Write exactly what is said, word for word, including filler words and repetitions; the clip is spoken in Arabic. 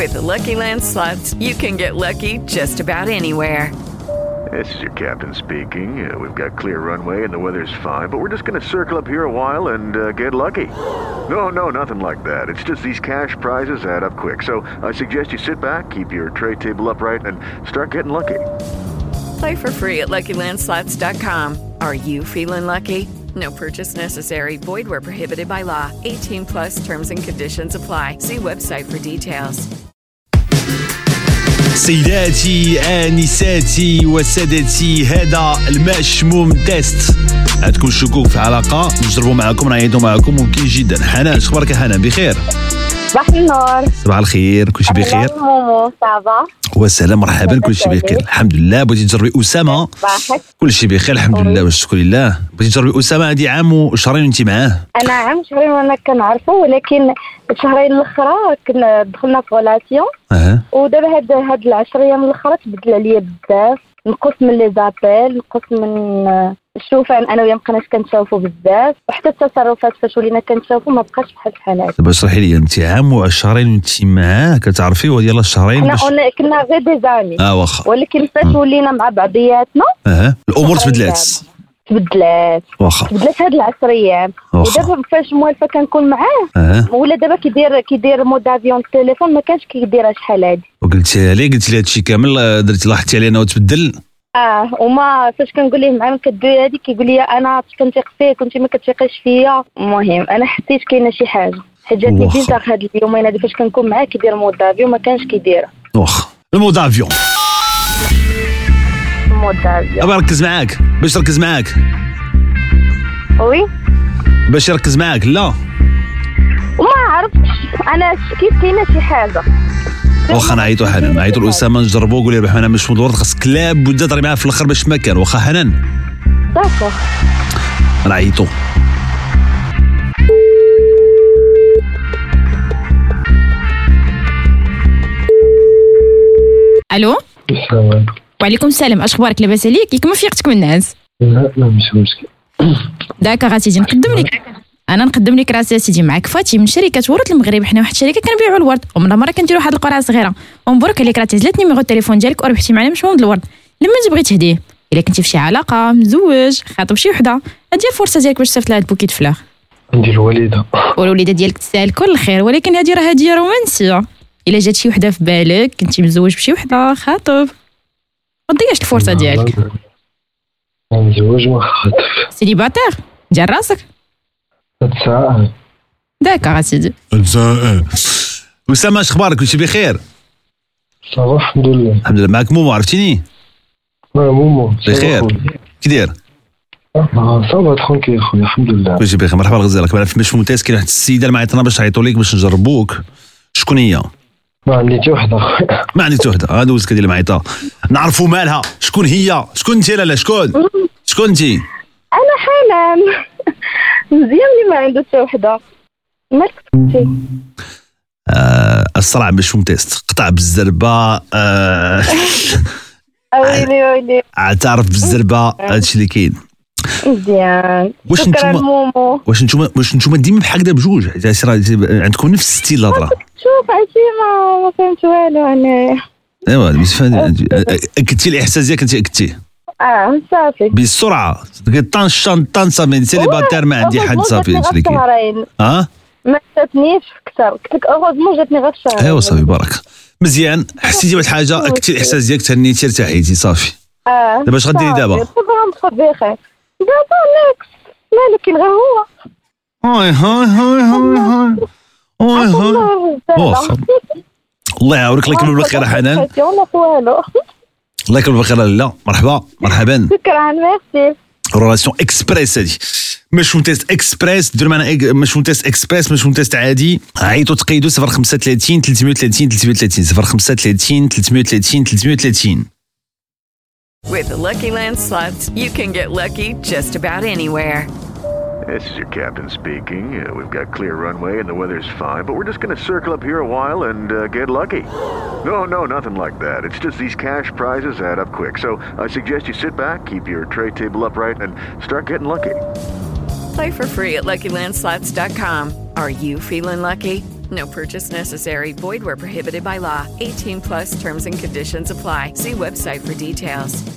With the Lucky Land Slots, you can get lucky just about anywhere. This is your captain speaking. Uh, we've got clear runway and the weather's fine, but we're just going to circle up here a while and uh, get lucky. No, no, nothing like that. It's just these cash prizes add up quick. So I suggest you sit back, keep your tray table upright, and start getting lucky. Play for free at Lucky Land Slots dot com. Are you feeling lucky? No purchase necessary. Void where prohibited by law. eighteen plus terms and conditions apply. See website for details. سيداتي آنساتي وسادتي، هذا المشموم تيست. عندكم شكوك في العلاقة، نجربوا معكم، نعيطوا معكم، ممكن جدا. حنان، شخبارك يا حنان؟ بخير؟ صباح النور. صباح الخير، كلشي بخير؟ مومو صافا؟ وسلام، مرحبا، كلشي بخير الحمد لله. بغيتي تجربي أسامة؟ كلشي بخير الحمد لله والشكر لله. بغيتي تجربي أسامة؟ هذه عام وشهرين وانت معاه. أنا عام وشهرين وأنا كنعرفه، ولكن الشهرين الأخرى كنا دخلنا في غولاسيون. أه. ودابا هاد هاد العشر أيام الأخرى تبدل عليا بزاف، نقص من لي زابيل، نقص من الشوفان، انا وياه مابقيناش كنتشافوا بزاف، وحتى التصرفات فاش ولينا كنتشافوا ما بقاش بحال بحالات. دابا اشرحي لي، انت عام وشهرين وانت معاه كتعرفيه وديال الشهرين باش حنا كنا غير دي زامي. اه واخا، ولكن فاش ولينا مع بعضياتنا اه الامور تبدلات تبدلات واخا تبدلات هاد العشر ايام. ودابا فاش موالفه كنكون معاه أه. ولا دابا كيدير كيدير مود افيون التليفون، ما كانش كيديرها شحال هادي. وقلتي لي قلتي لي هادشي كامل، درتي لاحظتي علينا وتبدل؟ اه وما فاش كنقول ليه معاه كدوي هادي كيقول لي انا كنثيق فيك وانت ما كتثيقيش فيا. المهم انا حسيت كاينه شي حاجه، حيت جاتني بيزار هاد اليومين هادي فاش كنكون معاه كيدير مود افيون، ما كانش كيديرها. واخا المود افيون مود افيون ابغى نركز معاك باش نركز معاك. وي باش يركز معاك؟ لا وما عرفتش انا شكيت كاينه شي حاجه. واخا نعيطوا حنان، نعيطوا لأسامة نجربوا، قولي ربح انا مش مدور، خاصك كلاب بدا تهضري معاه في الاخر باش ما كان. واخا حنان داكور نعيطوا. الو السلام عليكم. وعليكم السلام، اش اخبارك؟ لاباس عليك؟ كيك ما فيقتك من الناس؟ لا لا ماشي مشكل. داكا سيدي، نقدم لك انا نقدم لك راسي سيدي، معك فاتي من شركه ورد المغرب. حنا واحد الشركه كنبيعوا الورد، ومن مره كنديروا واحد القرعه صغيره، ومبروك عليك راه تهزلت نيميرو التليفون ديالك وربحتي معنا مشموم الورد. لما تبغي تهديه، الا كنتي في شي علاقه، مزوج، خاطب شي وحده، هادي الفرصه ديالك باش تصيفط لها هاد بوكيت فلاغ. عندي الوالده والوليده ديالك تستاهل كل خير، ولكن هادي راه هديه رومانسيه. الا جات شي وحده في بالك، كنتي مزوج بشي وحده، خاطب، ما تضيعش الفرصه ديالك. مزوج وخاطب سيدي باتير ديال راسك. هاد الساعه داكا سيدي. أسامة اش اخبارك؟ كلشي بخير؟ صافا الحمد لله. الحمد لله. معك مومو، عرفتيني؟ اه مومو بخير، كي داير؟ صافا ترونكيل خويا الحمد لله. كلشي بخير، مرحبا غزالك. معنا في مش ممتاز، كاين واحد السيده اللي معيطنا باش نعيطوا ليك باش نجربوك. شكون هي؟ ما عندي حتى وحده خويا. ما عندي حتى وحده، غادي دوزك هذه اللي معيطه، نعرفوا مالها. شكون هي؟ شكون انت؟ لا لا شكون؟ شكون انت؟ انا حنان. مزيان اللي ما عنده حتى وحده. مالك انت؟ آه الصراع مش ممتاز، قطع بالزربه. آه ويلي ويلي اعترف بالزربه، هادشي اللي كاين. مزيان. واش نتوما واش نتوما واش نتوما ديما بحال هكذا بجوج؟ عندكم نفس الستيل الهضره. شوف عرفتي ما ما فهمت والو انا. ايوا بس اكدتي الاحساس ديالك، انت اكدتيه. اه صافي بسرعه طن شنطان صافي سيليباتير، ما عندي حد صافي. هادشي اللي كاين. اه ما جاتنيش كثر، قلت لك اوغوزمون جاتني غير الشهر. ايوا صافي برك مزيان. حسيتي بواحد الحاجه، اكدتي الاحساس ديالك، تهنيتي ارتاحيتي صافي. اه دابا اش غديري دابا؟ دابا غندخل بخير. دابا ناكس مالك غير هو. هاي هاي هاي هاي هاي هاي واخا الله يعاونك. الله يكمل بالخير حنان. ولا والو. الله يكمل بالخير. لا مرحبا مرحبا. شكرا ميرسي. رولاسيون اكسبريس هادي، مش تيست اكسبريس. ديروا معنا مش تيست اكسبريس، مش تيست عادي. عيطوا تقيدوا صفر خمسة ثلاثين ثلاثمية وثلاثين ثلاثمية وثلاثين صفر خمسة ثلاثين ثلاثمية وثلاثين ثلاثمية وثلاثين. With the Lucky Land Slots, you can get lucky just about anywhere. This is your captain speaking. Uh, we've got clear runway and the weather's fine, but we're just going to circle up here a while and uh, get lucky. No, no, nothing like that. It's just these cash prizes add up quick. So I suggest you sit back, keep your tray table upright, and start getting lucky. Play for free at Lucky Land Slots dot com. Are you feeling lucky? No purchase necessary. Void where prohibited by law. eighteen plus terms and conditions apply. See website for details.